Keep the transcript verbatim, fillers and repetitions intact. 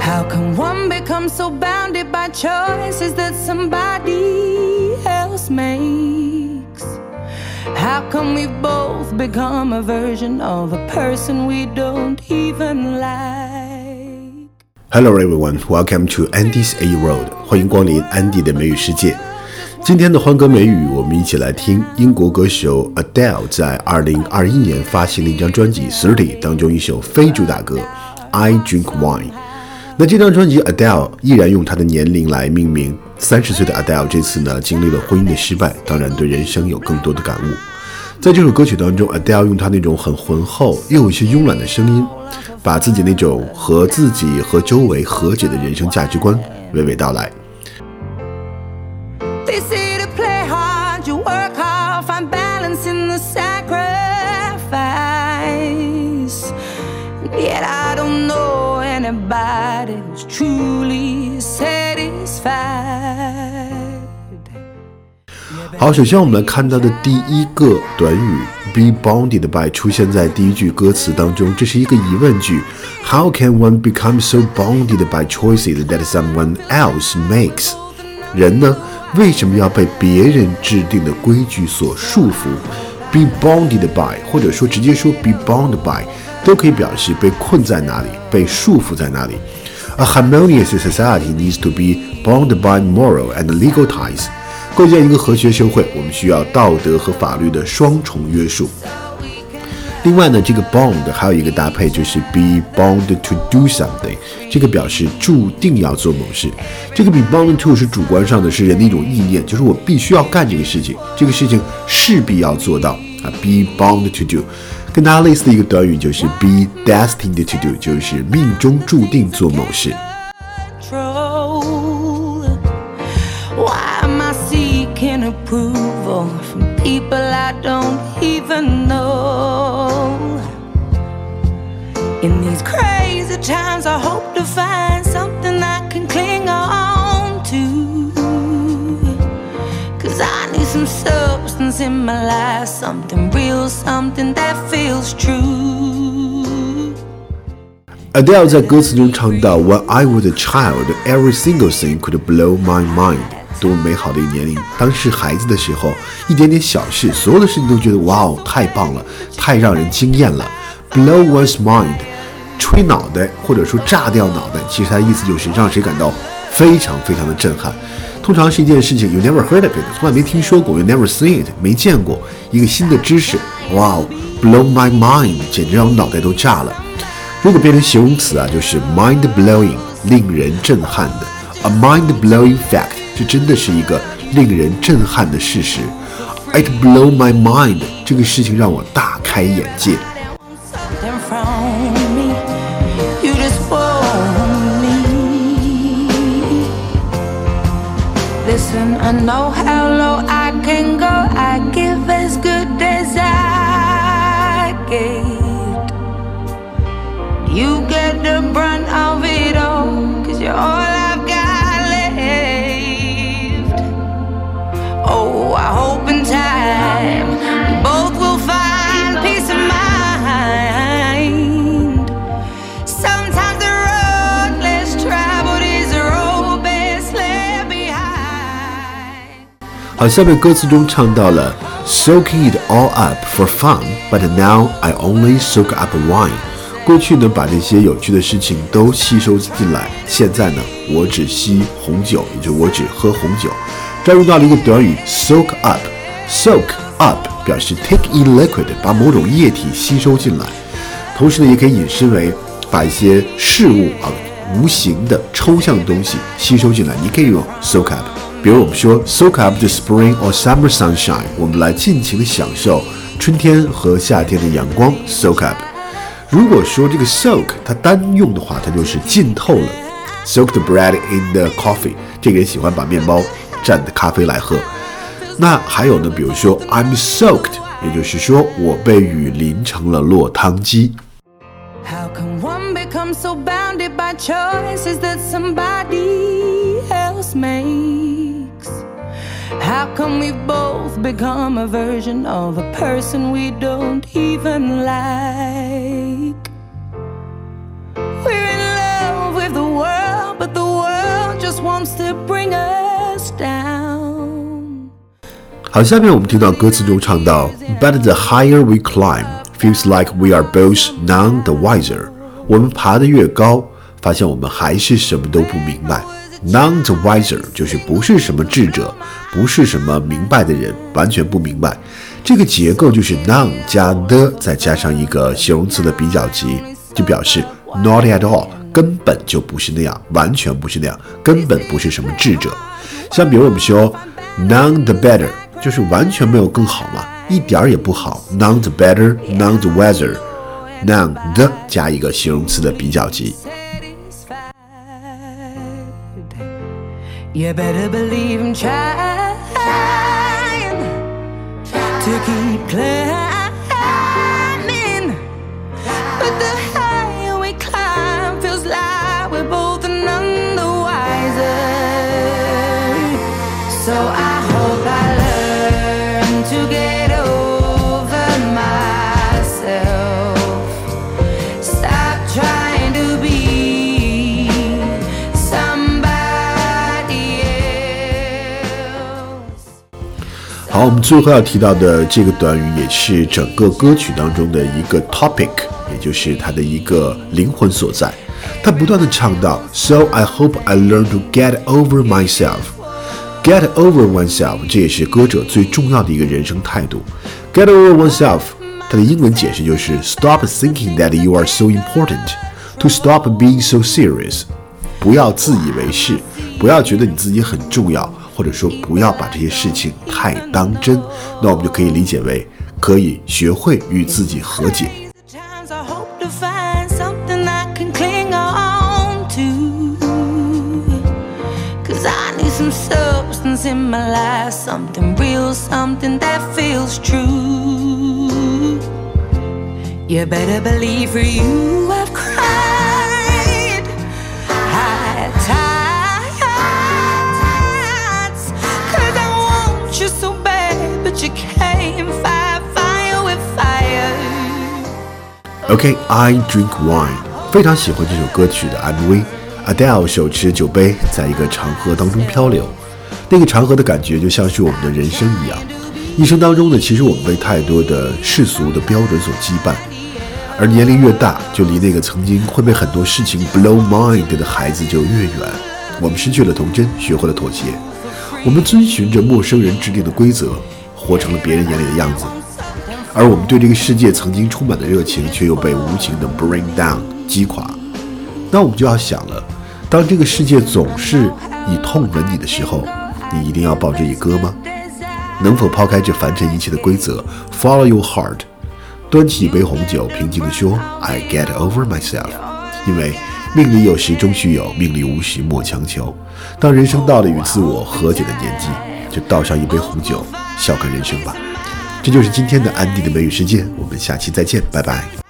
How can one become so bounded by choices that somebody else makes? How can we both become a version of a person we don't even like? Hello everyone, welcome to Andy's A World. 欢迎光临安迪的美语世界。今天的欢歌美语，我们一起来听英国歌手 Adele 在二零二一年发行的一张专辑 thirty 当中一首非主打歌 I Drink Wine。那这张专辑 Adele 依然用她的年龄来命名。三十岁的 Adele 这次呢经历了婚姻的失败，当然对人生有更多的感悟。在这首歌曲当中 Adele 用她那种很浑厚又有些慵懒的声音，把自己那种和自己和周围和解的人生价值观娓娓道来。 They say to play hard, you work hard, find balance in the sacrifice. Yet I don't know anybody who's truly satisfied. 好，首先我们来看到的第一个短语 be bounded by 出现在第一句歌词当中，这是一个疑问句。How can one become so bounded by choices that someone else makes? 人呢，为什么要被别人制定的规矩所束缚？ Be bounded by 或者说直接说 be bound by 都可以表示被困在哪里，被束缚在哪里。A harmonious society needs to be bound by moral and legal ties. 构建一个和谐社会，我们需要道德和法律的双重约束。另外呢，这个 bound 还有一个搭配，就是 be bound to do something， 这个表示注定要做某事。这个 be bound to 是主观上的，是人的一种意念，就是我必须要干这个事情，这个事情势必要做到啊 be bound to do。跟它类似的一个短语就是 be destined to do， 就是命中注定做某事。 Approval from people I don't even know. In these crazy times I hope to find something I can cling on to, 'Cause I need some substance in my life, something real, something that feels true. Adele 在歌词中唱到 When I was a child, every single thing could blow my mind. 多么美好的一个年龄，当是孩子的时候，一点点小事，所有的事情都觉得哇哦，太棒了，太让人惊艳了。Blow one's mind， 吹脑袋或者说炸掉脑袋，其实它的意思就是让谁感到非常非常的震撼。通常是一件事情 you never heard of it， 从来没听说过 you never seen it， 没见过一个新的知识，哇哦 blow my mind， 简直让我脑袋都炸了。如果变成形容词啊，就是 mind blowing， 令人震撼的 a mind blowing fact，这真的是一个令人震撼的事实。It blew my mind， 这个事情让我大开眼界。 Listen, I know how low I can go. I give as good as I get. You get the brunt of it all, 'cause you're all I've got left. Oh, I hope in time we both will find peace of mind. Sometimes the road less traveled is the road best left behind. 好，下面歌词中唱到了 Soaking it all up for fun, but now I only soak up wine. 过去呢，把这些有趣的事情都吸收进来，现在呢，我只吸红酒，也就是我只喝红酒。这儿用到了一个短语 soak up。soak up 表示 take in liquid， 把某种液体吸收进来。同时呢，也可以引申为把一些事物啊，无形的抽象的东西吸收进来。你可以用 soak up。比如我们说 soak up the spring or summer sunshine， 我们来尽情的享受春天和夏天的阳光 soak up。如果说这个 soak 它单用的话，它就是浸透了 soak the bread in the coffee， 这个人喜欢把面包蘸的咖啡来喝。那还有呢，比如说 I'm soaked， 也就是说我被雨淋成了落汤鸡。 How can one become so bounded by choices that somebody else makes? How can we both become a version of a person we don't even like? We're in love with the world comes to bring us down。 好，下面我们听到歌词中唱到 But the higher we climb, feels like we are both none the wiser。 我们爬得越高，发现我们还是什么都不明白。 None the wiser 就是不是什么智者，不是什么明白的人，完全不明白。这个结构就是 none 加 the 再加上一个形容词的比较级，就表示 not at all， 根本就不是那样，完全不是那样，根本不是什么智者。像比如我们说 none the better， 就是完全没有更好嘛，一点也不好。 None the better, none the wiser， none the 加一个形容词的比较级。 You better believe I'm trying to keep climbing, but the higher we climb feels like we're both none the wiser. So I hope I learn to get over myself, stop trying to be 好，我们最后要提到的这个短语也是整个歌曲当中的一个 topic， 也就是它的一个灵魂所在。它不断地唱到 So I hope I learn to get over myself。 Get over oneself， 这也是歌者最重要的一个人生态度。 Get over oneself， 它的英文解释就是 Stop thinking that you are so important, to stop being so serious。 不要自以为是，不要觉得你自己很重要，或者说不要把这些事情太当真，那我们就可以理解为可以学会与自己和解。 You better believe for you I've cried, high tides, cause I want you so bad, but you can't fight fire with fire. Okay, I drink wine， 非常喜欢这首歌曲的 M V。Adele 手持酒杯在一个长河当中漂流，那个长河的感觉就像是我们的人生一样。一生当中呢，其实我们被太多的世俗的标准所羁绊，而年龄越大，就离那个曾经会被很多事情 blow mind 的孩子就越远。我们失去了童真，学会了妥协，我们遵循着陌生人制定的规则，活成了别人眼里的样子。而我们对这个世界曾经充满的热情，却又被无情的 bring down 击垮。那我们就要想了，当这个世界总是以痛吻你的时候，你一定要报之以歌吗？能否抛开这凡尘一切的规则 ，follow your heart， 端起一杯红酒，平静地说 I get over myself。 因为命里有时终须有，命里无时莫强求。当人生到了与自我和解的年纪，就倒上一杯红酒，笑看人生吧。这就是今天的安迪的美语世界，我们下期再见，拜拜。